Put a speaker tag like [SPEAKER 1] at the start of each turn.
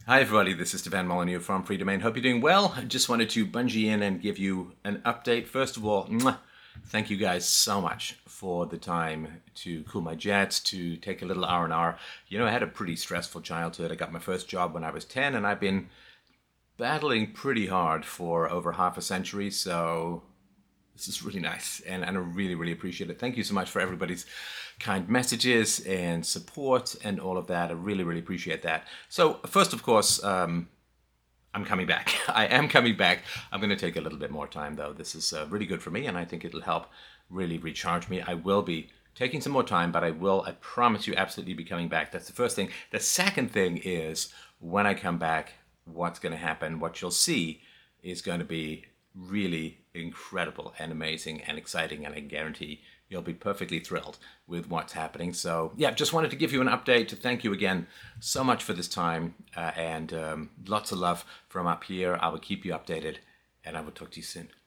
[SPEAKER 1] Hi everybody, this is Stefan Molyneux from Free Domain. Hope you're doing well. I just wanted to bungee in and give you an update. First of all, thank you guys so much for the time to cool my jets, to take a little R&R. You know, I had a pretty stressful childhood. I got my first job when I was 10, and I've been battling pretty hard for over half a century, so this is really nice, and I really, really appreciate it. Thank you so much for everybody's kind messages and support and all of that. I really, really appreciate that. So first, of course, I'm coming back. I am coming back. I'm going to take a little bit more time, though. This is really good for me, and I think it'll help really recharge me. I will be taking some more time, but I promise you, absolutely be coming back. That's the first thing. The second thing is, when I come back, what's going to happen, what you'll see is going to be really incredible and amazing and exciting, and I guarantee you'll be perfectly thrilled with what's happening. So yeah, just wanted to give you an update, to thank you again so much for this time, and lots of love from up here. I will keep you updated, and I will talk to you soon.